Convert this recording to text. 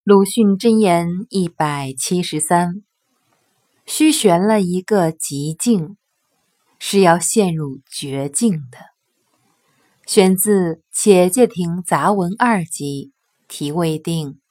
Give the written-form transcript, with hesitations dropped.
鲁迅箴言173：须悬了一个极境，是要陷入绝境的。选自《且介亭杂文2集》，题未定。